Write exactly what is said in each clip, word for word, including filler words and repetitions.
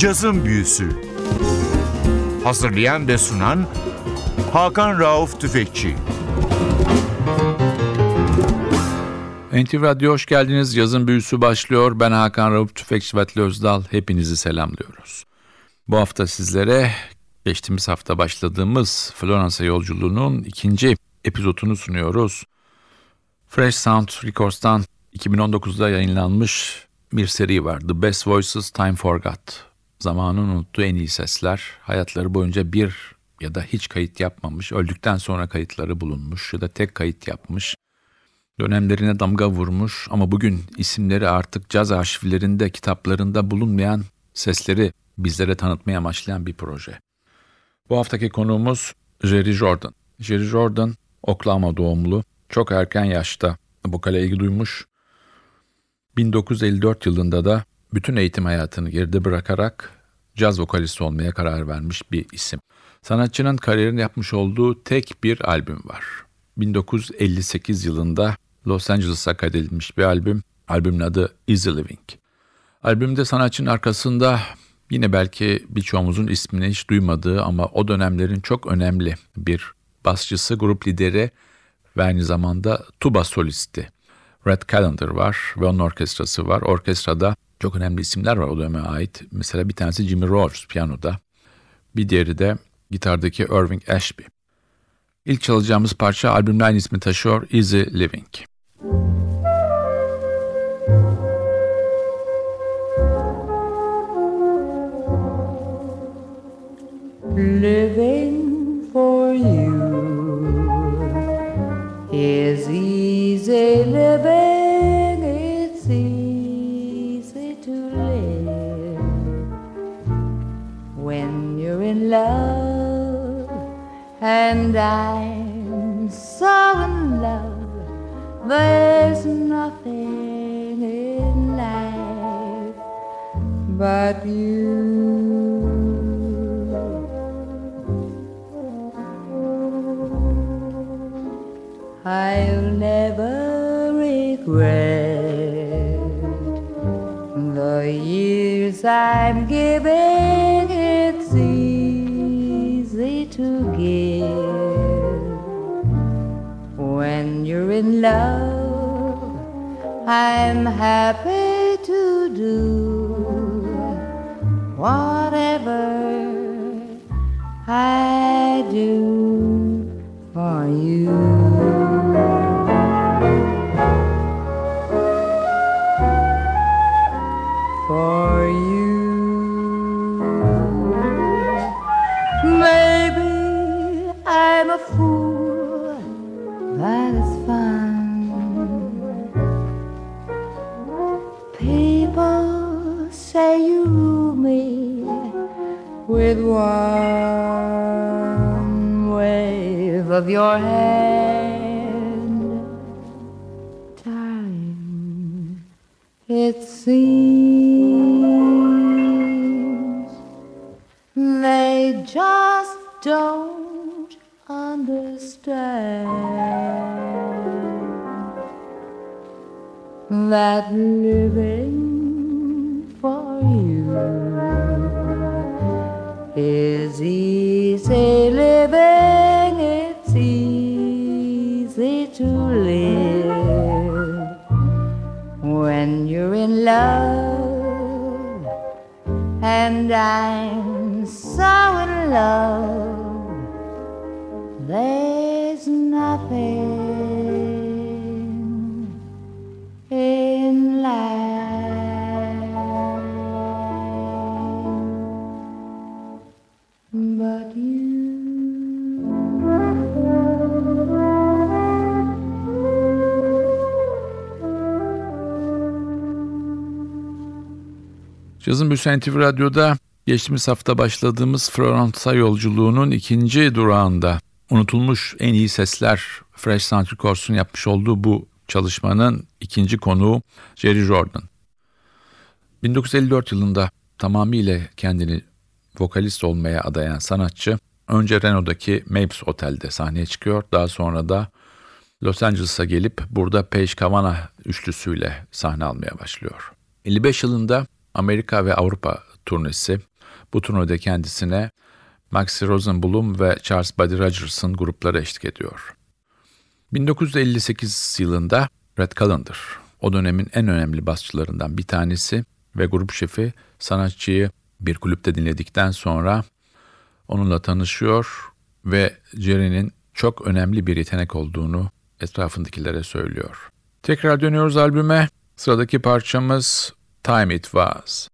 Cazın Büyüsü. Hazırlayan ve sunan Hakan Rauf Tüfekçi. N T V Radyo hoş geldiniz. Yazın Büyüsü başlıyor. Ben Hakan Rauf Tüfekçi ve Atli Özdal. Hepinizi selamlıyoruz. Bu hafta sizlere geçtiğimiz hafta başladığımız Floransa yolculuğunun ikinci epizodunu sunuyoruz. Fresh Sound Records'tan iki bin on dokuzda yayınlanmış bir seri var. The Best Voices Time Forgot. Zamanın unuttuğu en iyi sesler. Hayatları boyunca bir ya da hiç kayıt yapmamış, öldükten sonra kayıtları bulunmuş ya da tek kayıt yapmış. Dönemlerine damga vurmuş ama bugün isimleri artık caz arşivlerinde, kitaplarında bulunmayan sesleri bizlere tanıtmaya amaçlayan bir proje. Bu haftaki konuğumuz Jerry Jordan. Jerry Jordan, Oklahoma doğumlu, çok erken yaşta vokale ilgi duymuş. bin dokuz yüz elli dört yılında da bütün eğitim hayatını geride bırakarak caz vokalisti olmaya karar vermiş bir isim. Sanatçının kariyerini yapmış olduğu tek bir albüm var. bin dokuz yüz elli sekiz yılında Los Angeles'a kaydedilmiş bir albüm. Albümün adı Easy Living. Albümde sanatçının arkasında yine belki birçoğumuzun ismini hiç duymadığı ama o dönemlerin çok önemli bir basçısı, grup lideri ve aynı zamanda tuba solisti Red Callender var ve onun orkestrası var. Orkestrada çok önemli isimler var o döneme ait. Mesela bir tanesi Jimmy Rogers piyanoda, bir diğeri de gitardaki Irving Ashby. İlk çalacağımız parça albümün aynı ismi taşıyor, Easy Living. Living for you is easy living, it's easy to live when you're in love, and I'm so in love, there's nothing in life but you. I'll never regret the years I'm giving. It's easy to give when you're in love. I'm happy to do whatever I do for you. For you, maybe I'm a fool, that is fun. People say you rule me with one wave of your hand, darling. It seems they just don't understand that living for you is easy living, it's easy to live when you're in love, and I'm so in love, there's nothing in life but you. Cazın Büyüsü N T V Radyo'da geçtiğimiz hafta başladığımız Floransa yolculuğunun ikinci durağında unutulmuş en iyi sesler Fresh Sound Records'un yapmış olduğu bu çalışmanın ikinci konuğu Jerry Jordan. bin dokuz yüz elli dört yılında tamamıyla kendini vokalist olmaya adayan sanatçı önce Reno'daki Mapes Otel'de sahneye çıkıyor. Daha sonra da Los Angeles'a gelip burada Page Kavana üçlüsüyle sahne almaya başlıyor. elli beş yılında Amerika ve Avrupa turnesi, Bu turnede kendisine Maxi Rosenblum ve Charles Buddy Rogers'ın grupları eşlik ediyor. bin dokuz yüz elli sekiz yılında Red Callender, o dönemin en önemli basçılarından bir tanesi ve grup şefi, sanatçıyı bir kulüpte dinledikten sonra onunla tanışıyor ve Jerry'nin çok önemli bir yetenek olduğunu etrafındakilere söylüyor. Tekrar dönüyoruz albüme. Sıradaki parçamız Time It Was.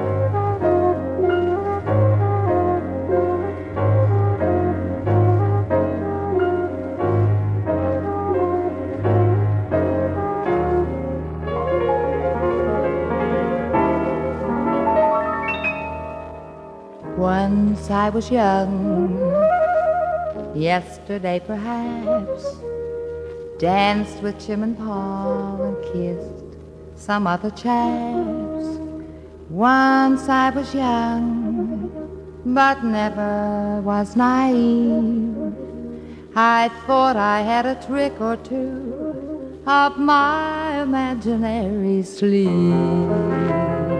Once I was young, yesterday perhaps, danced with Jim and Paul and kissed some other chaps. Once I was young, but never was naive. I thought I had a trick or two up my imaginary sleeve.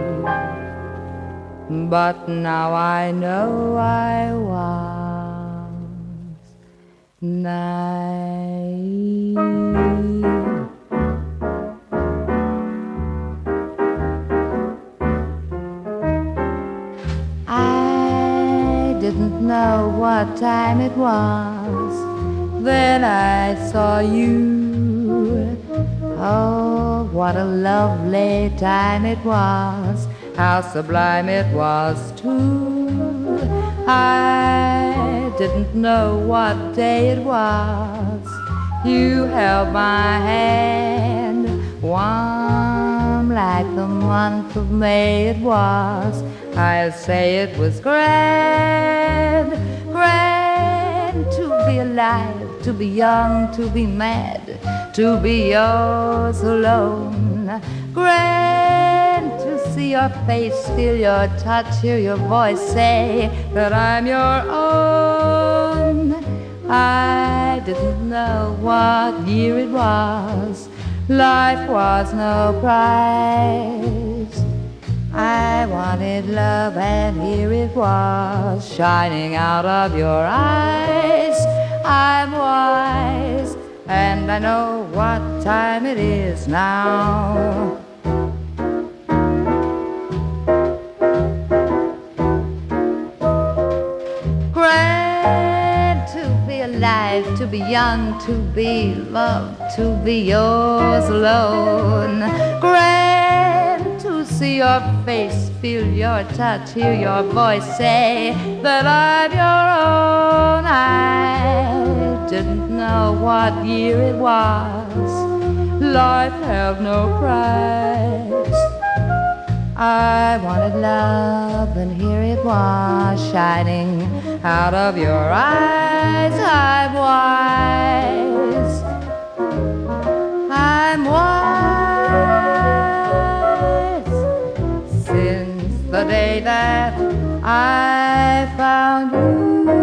But now I know I was naive. I didn't know what time it was, then I saw you. Oh, what a lovely time it was, how sublime it was too. I didn't know what day it was. You held my hand, warm like the month of May it was. I'll say it was grand, grand to be alive, to be young, to be mad, to be yours alone. Grand to see your face, feel your touch, hear your voice say that I'm your own. I didn't know what year it was. Life was no prize. I wanted love and here it was, shining out of your eyes. I'm wise and I know what time it is now. Grand to be alive, to be young, to be loved, to be yours alone. Grand to see your face, feel your touch, hear your voice say that I'm your own. I didn't know what year it was. Life held no price. I wanted love and here it was, shining out of your eyes. I'm wise, I'm wise, since the day that I found you.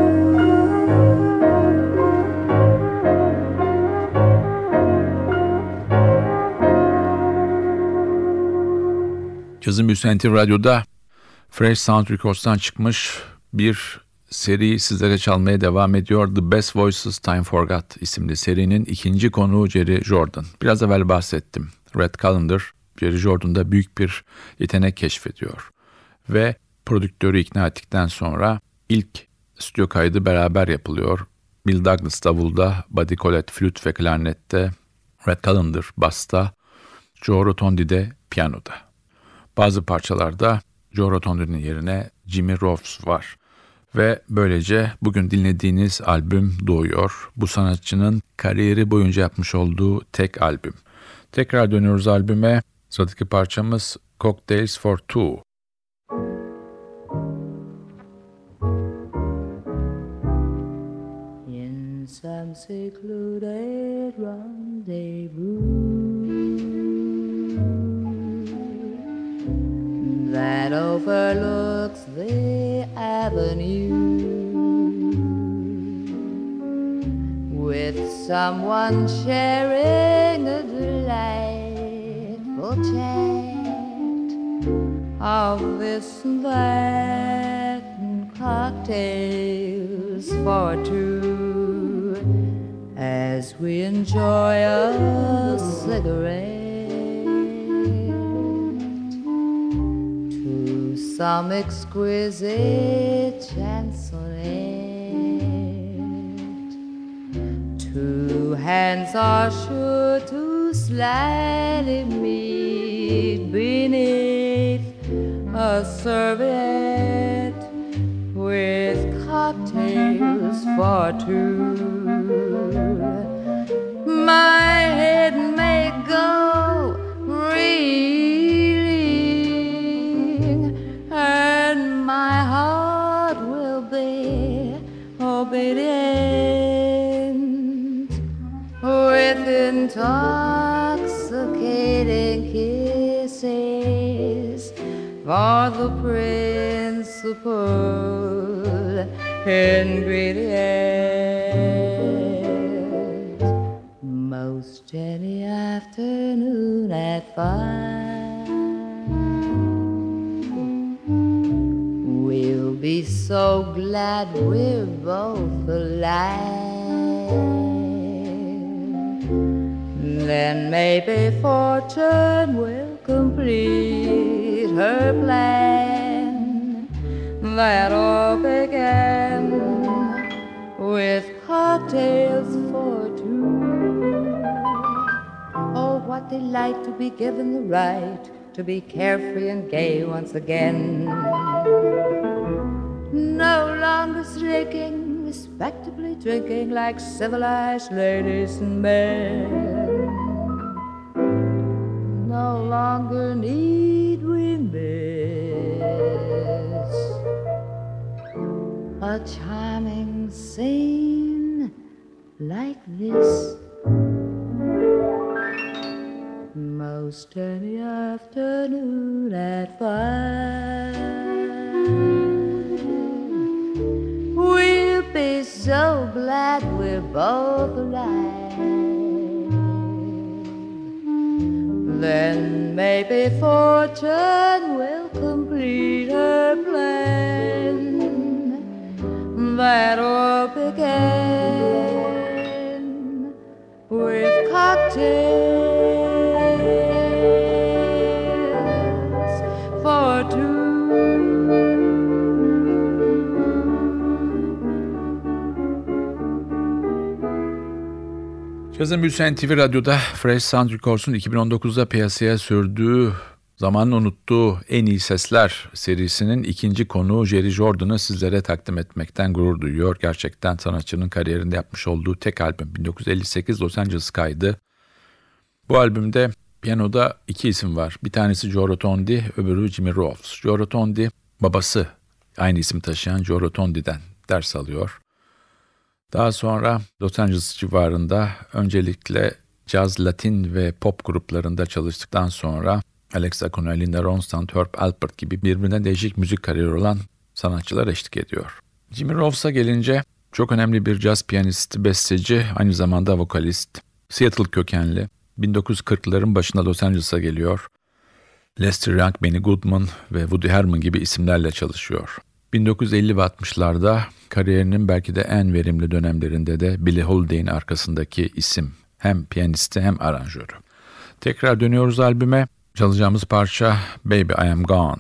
Cazın Büyüsü N T V Radyo'da Fresh Sound Records'tan çıkmış bir seri sizlere çalmaya devam ediyor. The Best Voices Time Forgot isimli serinin ikinci konuğu Jerry Jordan. Biraz evvel bahsettim. Red Callender, Jerry Jordan'da büyük bir yetenek keşfediyor. Ve prodüktörü ikna ettikten sonra ilk stüdyo kaydı beraber yapılıyor. Bill Douglas davulda, Buddy Collette flüt ve klarnette, Red Callender basta, Joe Rotondi de piyanoda. Bazı parçalarda Joe Rotondi'nin yerine Jimmy Roves var. Ve böylece bugün dinlediğiniz albüm doğuyor. Bu sanatçının kariyeri boyunca yapmış olduğu tek albüm. Tekrar dönüyoruz albüme. Sıradaki parçamız Cocktails for Two. In some secluded rendezvous that overlooks the avenue, with someone sharing a delightful chat of this and that, cocktails for two as we enjoy a cigarette to some exquisite chansonette. Two hands are sure to slightly meet beneath a serviette with cocktails for two. My head may go reeling and my heart will be obedient with intoxicating kisses for the principal ingredient. Most any afternoon at five, we'll be so glad we're both alive. Then maybe fortune will complete her plan that all began with cocktails for two. Oh, what delight to be given the right to be carefree and gay once again. No longer slicking, respectably drinking like civilized ladies and men. No longer need we miss a charming scene like this. Most any afternoon at five, we'll be so glad we're both alive. Then maybe fortune will complete her plan that all began with cocktails for two. Cazın Büyüsü N T V Radyo'da Fresh Sound Records'un iki bin on dokuzda piyasaya sürdüğü, zamanın unuttuğu en iyi sesler serisinin ikinci konuğu Jerry Jordan'ı sizlere takdim etmekten gurur duyuyor. Gerçekten sanatçının kariyerinde yapmış olduğu tek albüm bin dokuz yüz elli sekiz Los Angeles kaydı. Bu albümde piyanoda iki isim var. Bir tanesi Joe Rotondi, öbürü Jimmy Rolfes. Joe Rotondi babası aynı isim taşıyan Joe Rotondi'den ders alıyor. Daha sonra Los Angeles civarında öncelikle caz, latin ve pop gruplarında çalıştıktan sonra Alex Acuna, Linda Ronstadt, Herb Alpert gibi birbirinden değişik müzik kariyeri olan sanatçılar eşlik ediyor. Jimmy Rolfes'a gelince çok önemli bir caz piyanisti, besteci, aynı zamanda vokalist. Seattle kökenli. bin dokuz yüz kırkların başında Los Angeles'a geliyor. Lester Young, Benny Goodman ve Woody Herman gibi isimlerle çalışıyor. bin dokuz yüz elli ve altmışlarda kariyerinin belki de en verimli dönemlerinde de Billie Holiday'in arkasındaki isim. Hem piyanisti hem aranjörü. Tekrar dönüyoruz albüme. Çalacağımız parça Baby I Am Gone.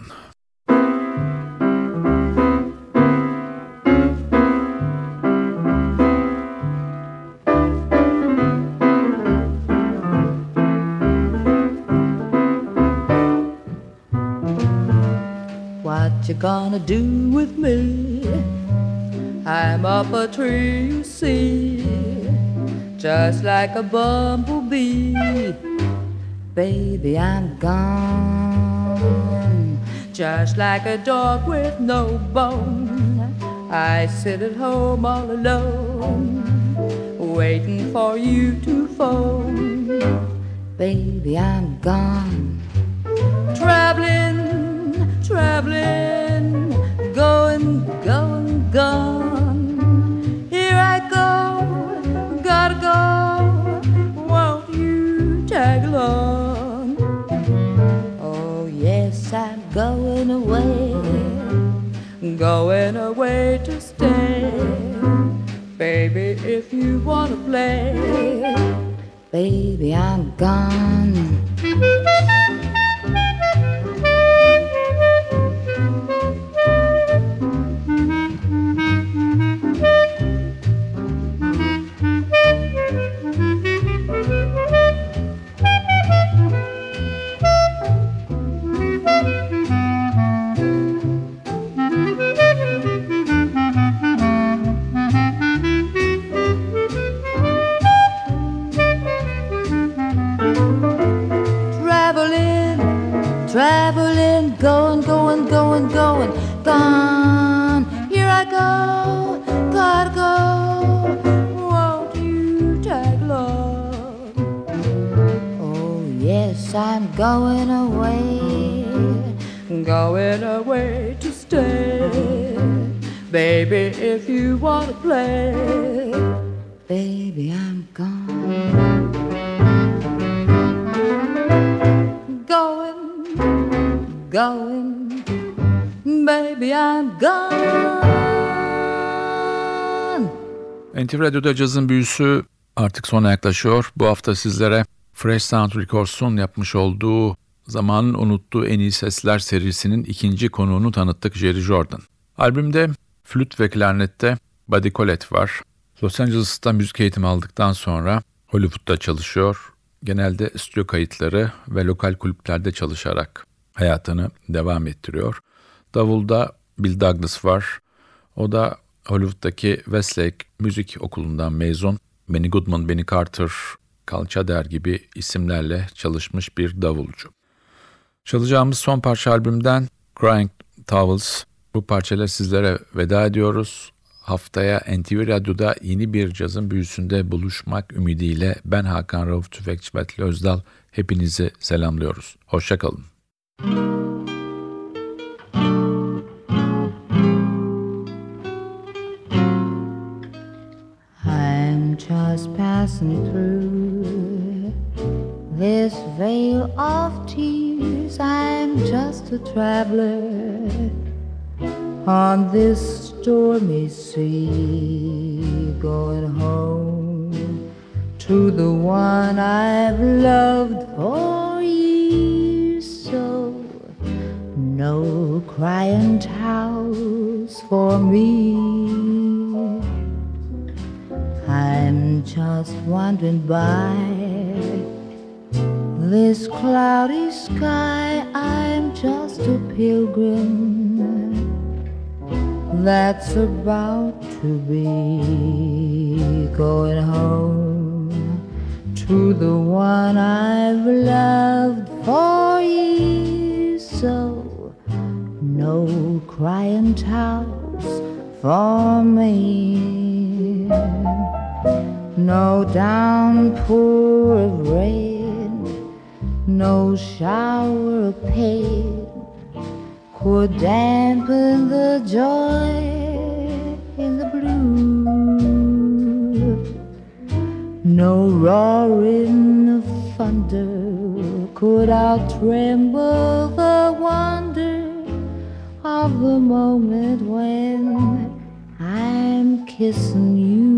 What you gonna do with me? I'm up a tree, you see, just like a bumblebee. Baby, I'm gone, just like a dog with no bone. I sit at home all alone, waiting for you to phone. Baby, I'm gone, traveling, traveling, going, going, gone. Here I go, gotta go, won't you tag along? Oh yes, I'm going away, going away Baby, if you wanna play, baby, I'm gone. Traveling, going, going, going, going, gone. Here I go, gotta go. Won't you tag along? Oh yes, I'm going away, going away to stay. Baby, if you wanna play, baby, I'm gone. Going, baby, I'm gone. N T V Radyo'da cazın büyüsü artık sona yaklaşıyor. Bu hafta sizlere Fresh Sound Records'un yapmış olduğu zamanın unuttuğu en iyi sesler serisinin ikinci konuğunu tanıttık, Jerry Jordan. Albümde flüt ve klarnette Buddy Collette var. Los Angeles'ta müzik eğitimi aldıktan sonra Hollywood'da çalışıyor. Genelde stüdyo kayıtları ve lokal kulüplerde çalışarak hayatını devam ettiriyor. Davulda Bill Douglas var. O da Hollywood'daki Westlake Müzik Okulu'ndan mezun. Benny Goodman, Benny Carter, Cal Tjader gibi isimlerle çalışmış bir davulcu. Çalacağımız son parça albümden Crying Towels. Bu parçayla sizlere veda ediyoruz. Haftaya N T V Radyo'da yeni bir cazın büyüsünde buluşmak ümidiyle ben Hakan Rauf Tüfekçi ve Atli Özdal hepinizi selamlıyoruz. Hoşça kalın. I'm just passing through this veil of tears. I'm just a traveler on this stormy sea, going home to the one I've loved for years. So no crying towels for me. I'm just wandering by this cloudy sky. I'm just a pilgrim that's about to be going home to the one I've loved for years. So no crying towels for me, no downpour of rain, no shower of pain could dampen the joy in the blue. No roaring of thunder could out-tremble the wonder of the moment when I'm kissing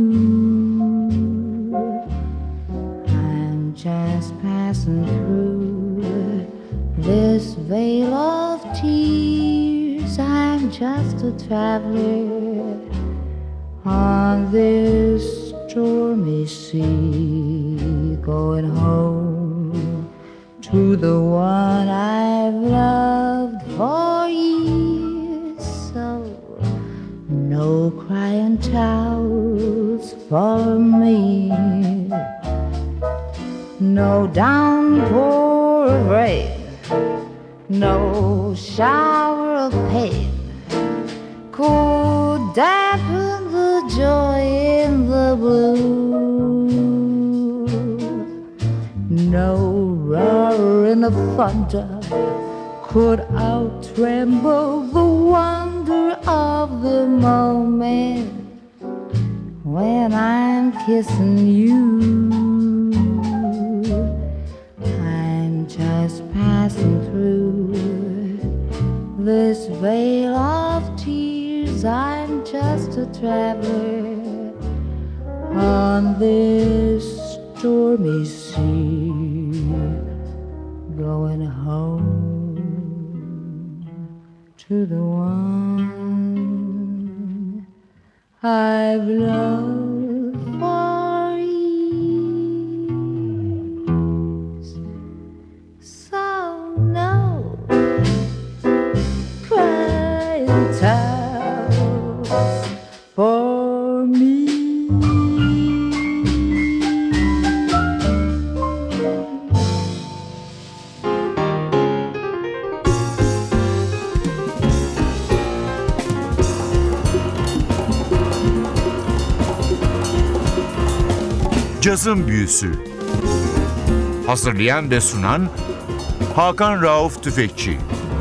you. I'm just passing through this veil of tears. I'm just a traveler on this stormy sea, going home to the one I've loved for years. So no crying towels for me, no downpour of rain, no shower of pain could dampen the joy in the blue. No roaring of thunder could out-tremble the wonder of the moment when I'm kissing you. I'm just passing through this veil of tears. I'm just a traveler on this stormy sea, going home to the one I've loved for years. So no crying towels for me. Cazın Büyüsü. Hazırlayan ve sunan Hakan Rauf Tüfekçi.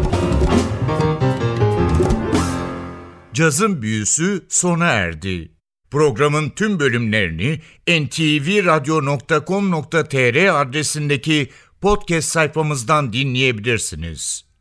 Cazın Büyüsü sona erdi. Programın tüm bölümlerini en te ve radyo nokta com nokta te er adresindeki podcast sayfamızdan dinleyebilirsiniz.